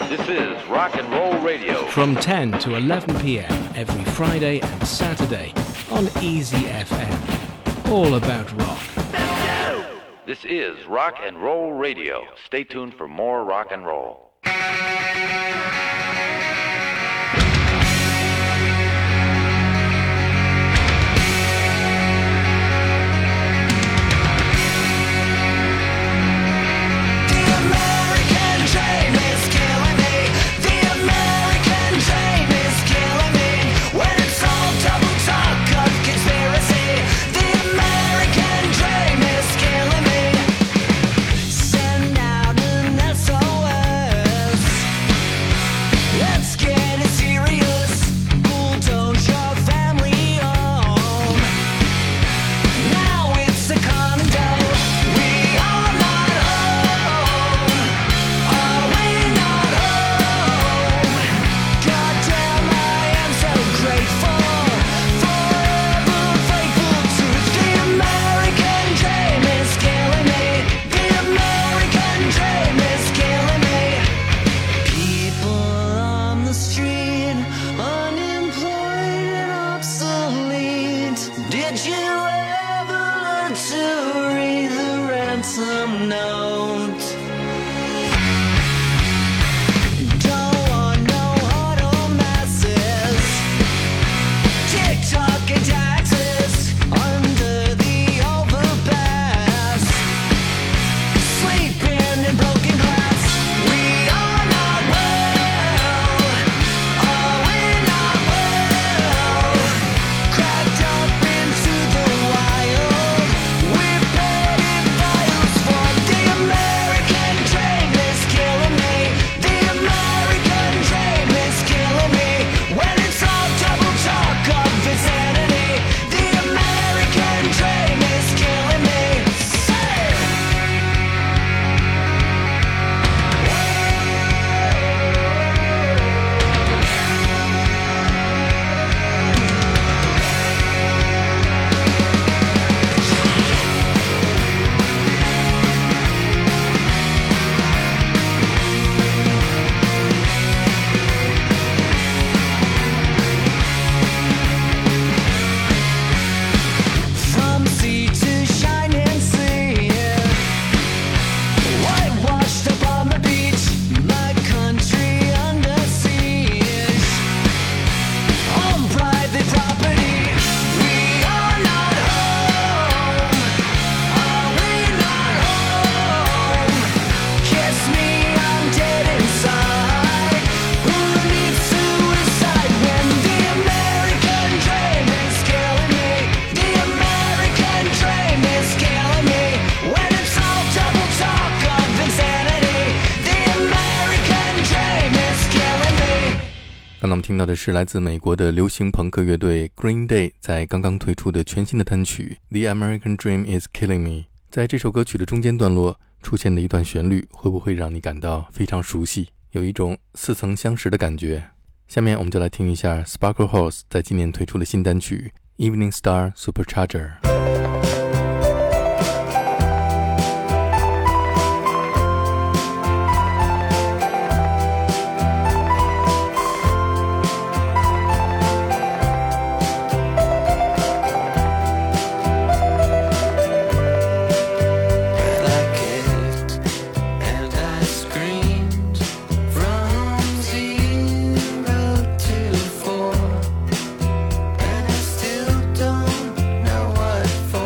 This is Rock and Roll Radio. From 10 to 11 p.m. every Friday and Saturday on Easy FM. All about rock. This is Rock and Roll Radio. Stay tuned for more rock and roll. 刚刚我们听到的是来自美国的流行朋克乐队 Green Day 在刚刚推出的全新的单曲 The American Dream is Killing Me。 在这首歌曲的中间段落出现的一段旋律，会不会让你感到非常熟悉，有一种似曾相识的感觉？下面我们就来听一下 Sparkle Horse 在今年推出的新单曲 Evening Star Supercharger。 For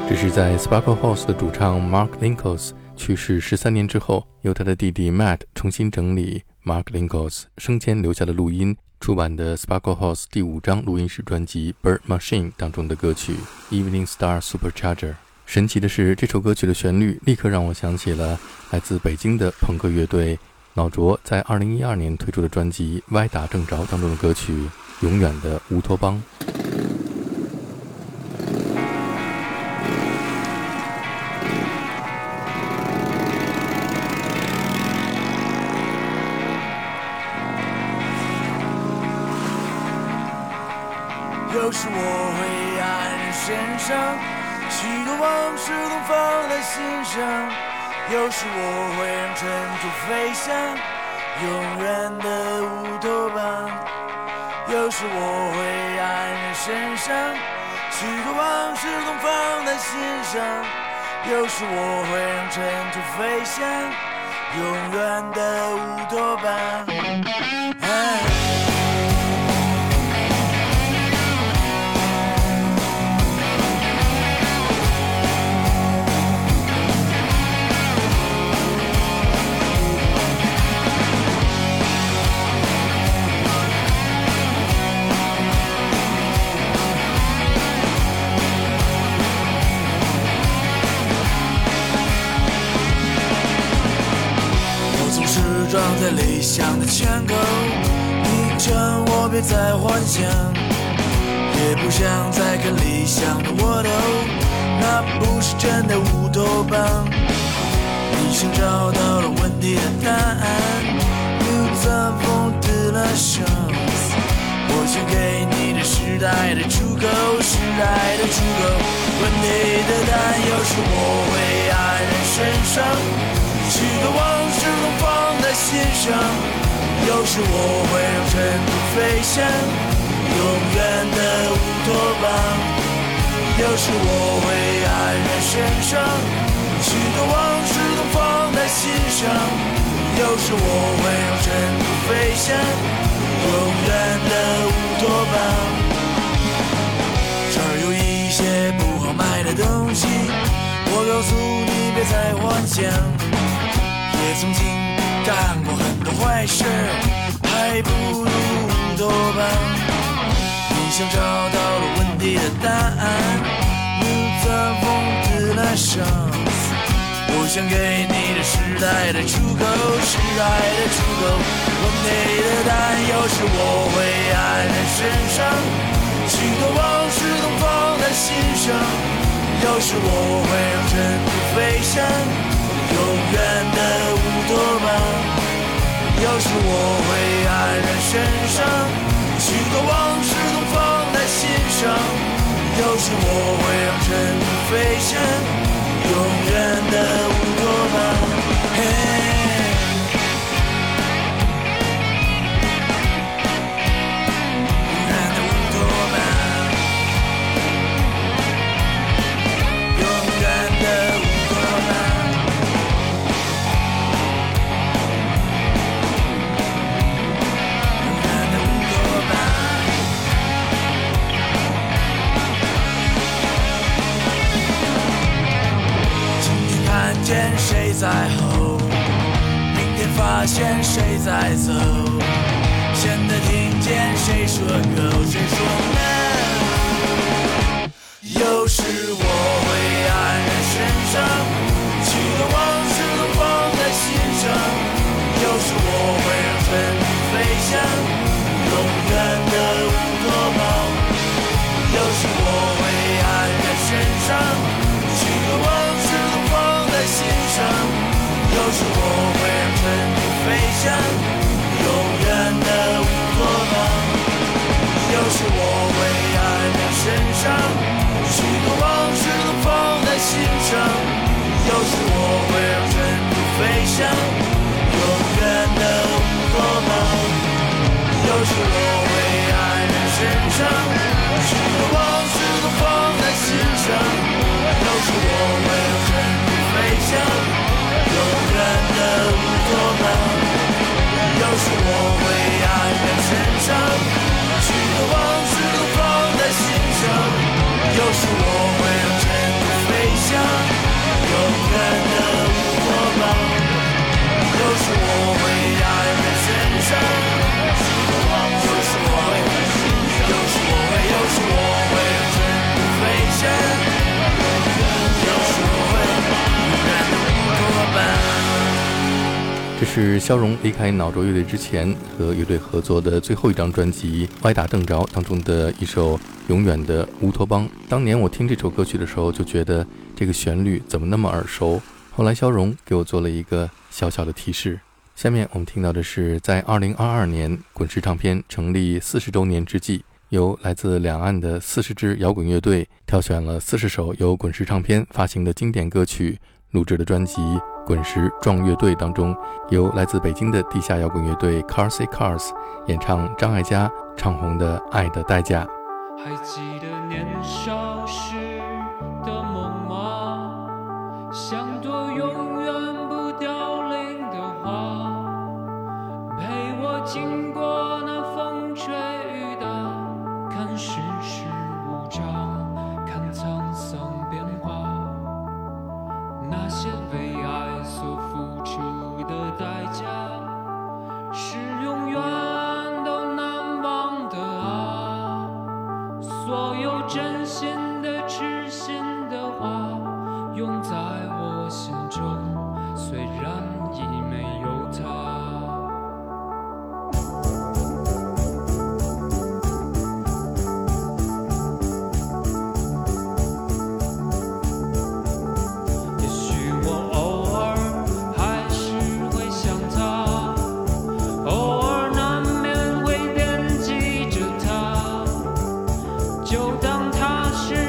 这是在 Sparkle Horse 的主唱 Mark Linkous 去世13年之后，由他的弟弟 Matt 重新整理 Mark Linkous 生前留下的录音，出版的 Sparkle Horse 第5张录音室专辑 Bird Machine 当中的歌曲 Evening Star Supercharger。 神奇的是，这首歌曲的旋律立刻让我想起了来自北京的朋克乐队脑浊在2012年推出的专辑歪打正着当中的歌曲永远的乌托邦。 有时我会黯然神伤，许多往事都放在心上，有时我会让尘土飞翔，永远的乌托邦。有时我会黯然神伤，许多往事都放在心上，有时我会让尘土飞翔，永远的乌托邦。撞在理想的枪口，硬撑我别再幻想，也不想再看理想的沃土，那不是真的乌托邦。你想找到了问题的答案 Nous avons de la chance， 我想给你的时代的出口，时代的出口。问题的答案，有时我会黯然神伤，许多往事都放在心上，有时我会让尘土飞翔，永远的乌托邦。有时我会黯然神伤，许多往事都放在心上，有时我会让尘土飞翔，永远的乌托邦。这儿有一些不好买的东西，我告诉你别再幻想，也曾经干过很多坏事，还不如乌托邦。你想找到了问题的答案 Nous avons de la chance， 我想给你的时代的出口，时代的出口。问题的答案，有时我会黯然神伤，许多往事都放在心上，有时我会让尘土飞翔，永远的乌托邦。有时我会黯然神伤，许多往事都放在心上，有时我会让尘土飞翔，永远的乌托邦。见谁在吼，明天发现谁在走，现在听见谁说 go， 谁说 no。 有时我会黯然神伤，许多往事都放在心上，有时我会让尘土飞翔，永远的乌托邦。有时我会黯然神伤，许多往事都放在心上，有时我会让尘土飞翔，永远的乌托邦。有时我会这是萧荣离开脑浊乐队之前和乐队合作的最后一张专辑《歪打正着》当中的一首《永远的乌托邦》。当年我听这首歌曲的时候就觉得这个旋律怎么那么耳熟，后来萧荣给我做了一个小小的提示。下面我们听到的是在2022年滚石唱片成立40周年之际，由来自两岸的40支摇滚乐队挑选了40首由滚石唱片发行的经典歌曲录制的专辑《滚石壮乐队》当中，由来自北京的地下摇滚乐队 Carsey Cars 演唱张艾嘉唱红的《爱的代价》。 还记得年少时的梦吗？像朵永远不凋零的花，陪我经过那风吹雨打，看世事无常，看沧桑变化。那些为爱所付出的代价，是永远都难忘的啊！所有真心的、痴心的话，永在我心中，虽然已没有他。就当他是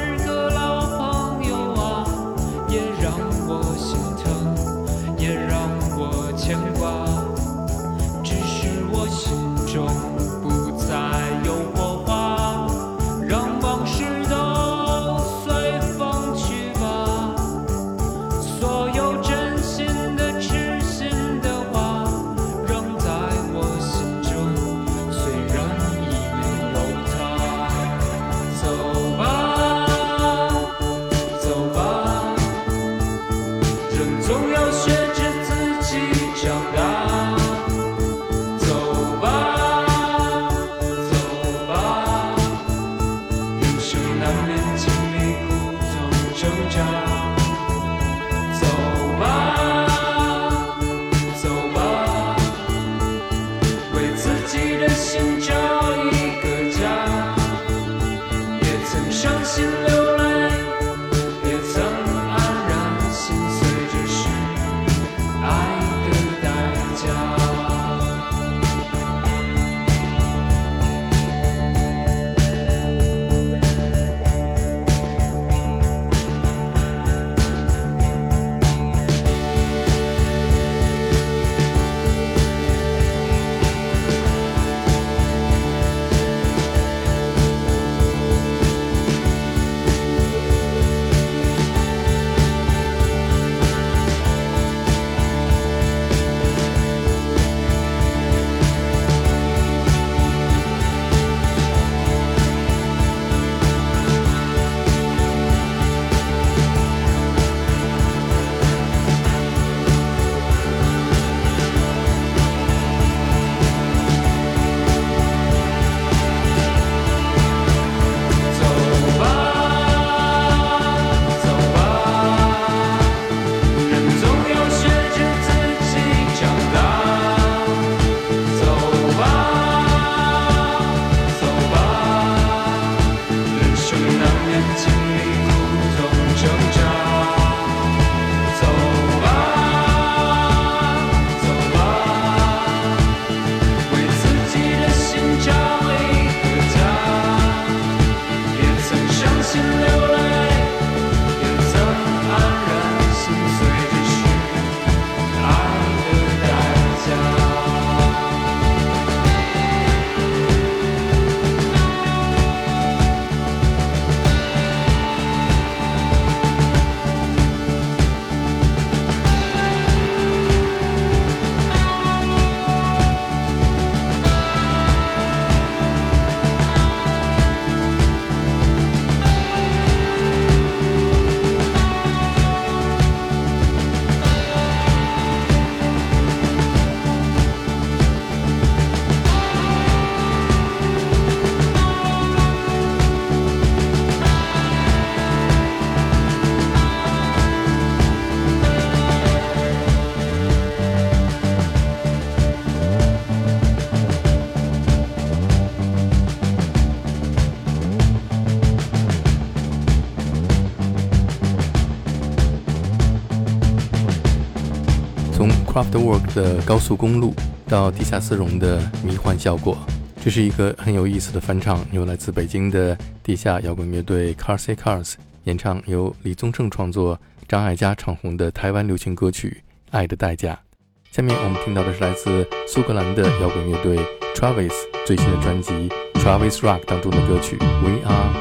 Kraftwerk 的高速公路到地下丝绒的迷幻效果。这是一个很有意思的翻唱，由来自北京的地下摇滚乐队 Carsey Cars 演唱，由李宗盛创作、张艾嘉唱红的台湾流行歌曲《爱的代价》。下面我们听到的是来自苏格兰的摇滚乐队 Travis 最新的专辑 Travis Rock 当中的歌曲 We Are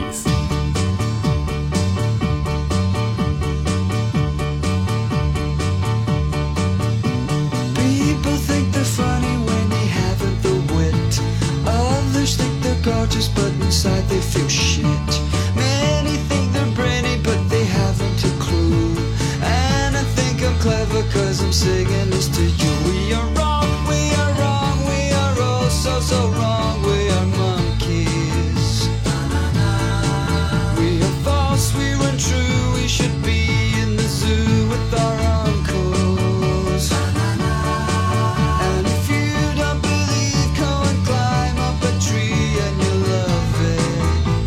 Monkeys。Just but inside they feel shit. Many think they're brainy but they haven't a clue. And I think I'm clever cause I'm singing this to you. We are wrong, we are wrong, we are all so wrong. We are monkeys. We are false, we run true. We should be in the zoo with our uncles. And if you don't believe, go and climb up a tree and you'll love it.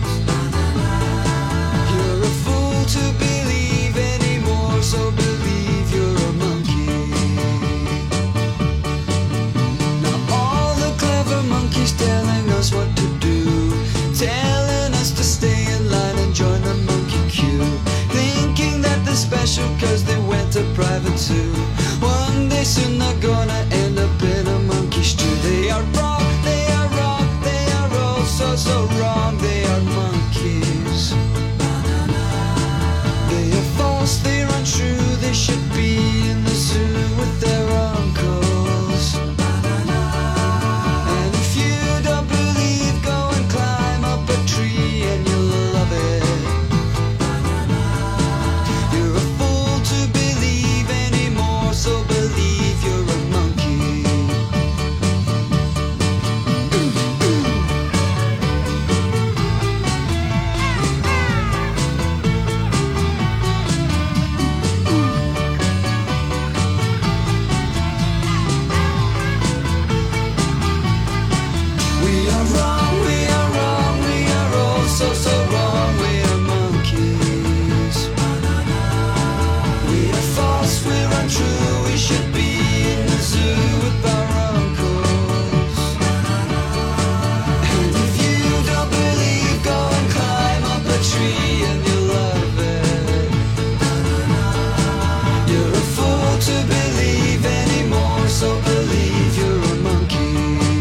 You're a fool to believe anymore, so believe you're a monkey. Now all the clever monkeys telling us what to do, telling us to stay in line and join the monkey queue, thinking that they're special cause they went to private zoo. One day soon they're gonna end up in a monkey stew. They are wrong, they are wrong, they are all so wrong. They are monkeys. They are false, they are untrue. They should be in the zoo with their uncles. And if you don't believe, go and climb up a tree and you'll love it. You're a fool to believe anymore, so believe you're a monkey. We are wrong, we are wrong, we are all so wrong. We are monkeys. We are false, we're untrue. We should be in the zoo with our uncles. And if you don't believe, go and climb up a tree and you'll love it. You're a fool to believe anymore, so believe you're a monkey.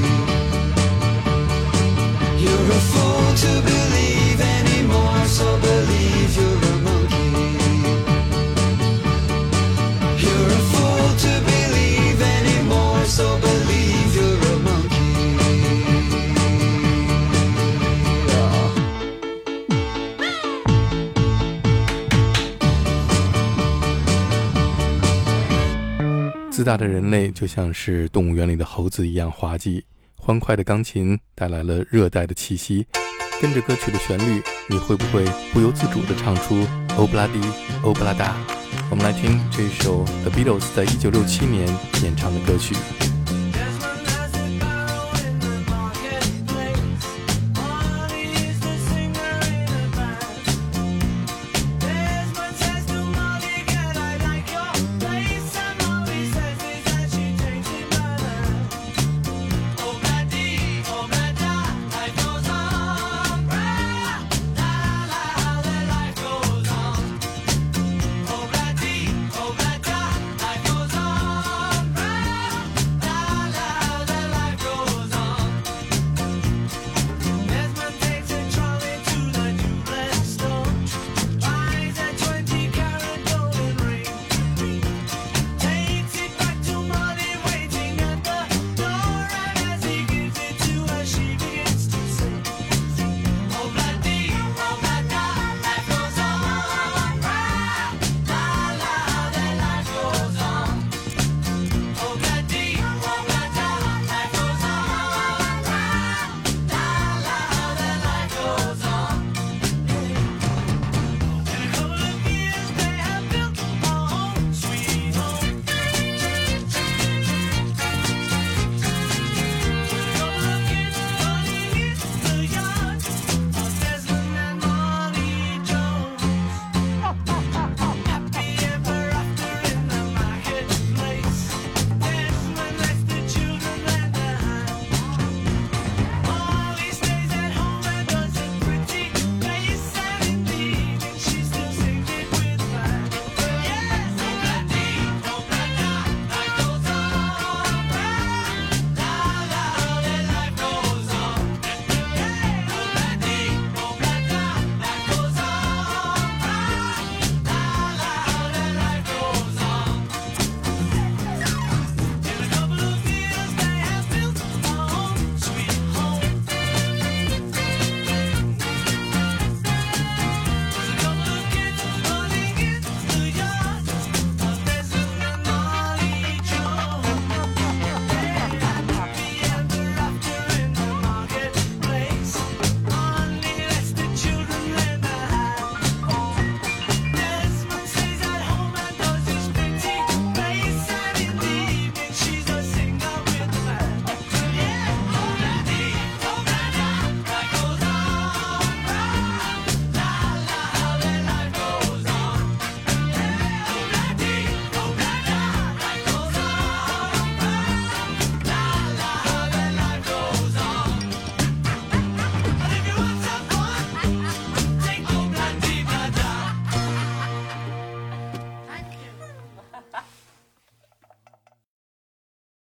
You're a fool to believe anymore, so believe you're a monkey. You're a fool to believe anymore, so believe you're a monkey. Yeah. 自大的人类就像是动物园里的猴子一样滑稽，欢快的钢琴带来了热带的气息。跟着歌曲的旋律，你会不会不由自主地唱出欧布拉迪欧布拉达？我们来听这首 The Beatles 在1967年演唱的歌曲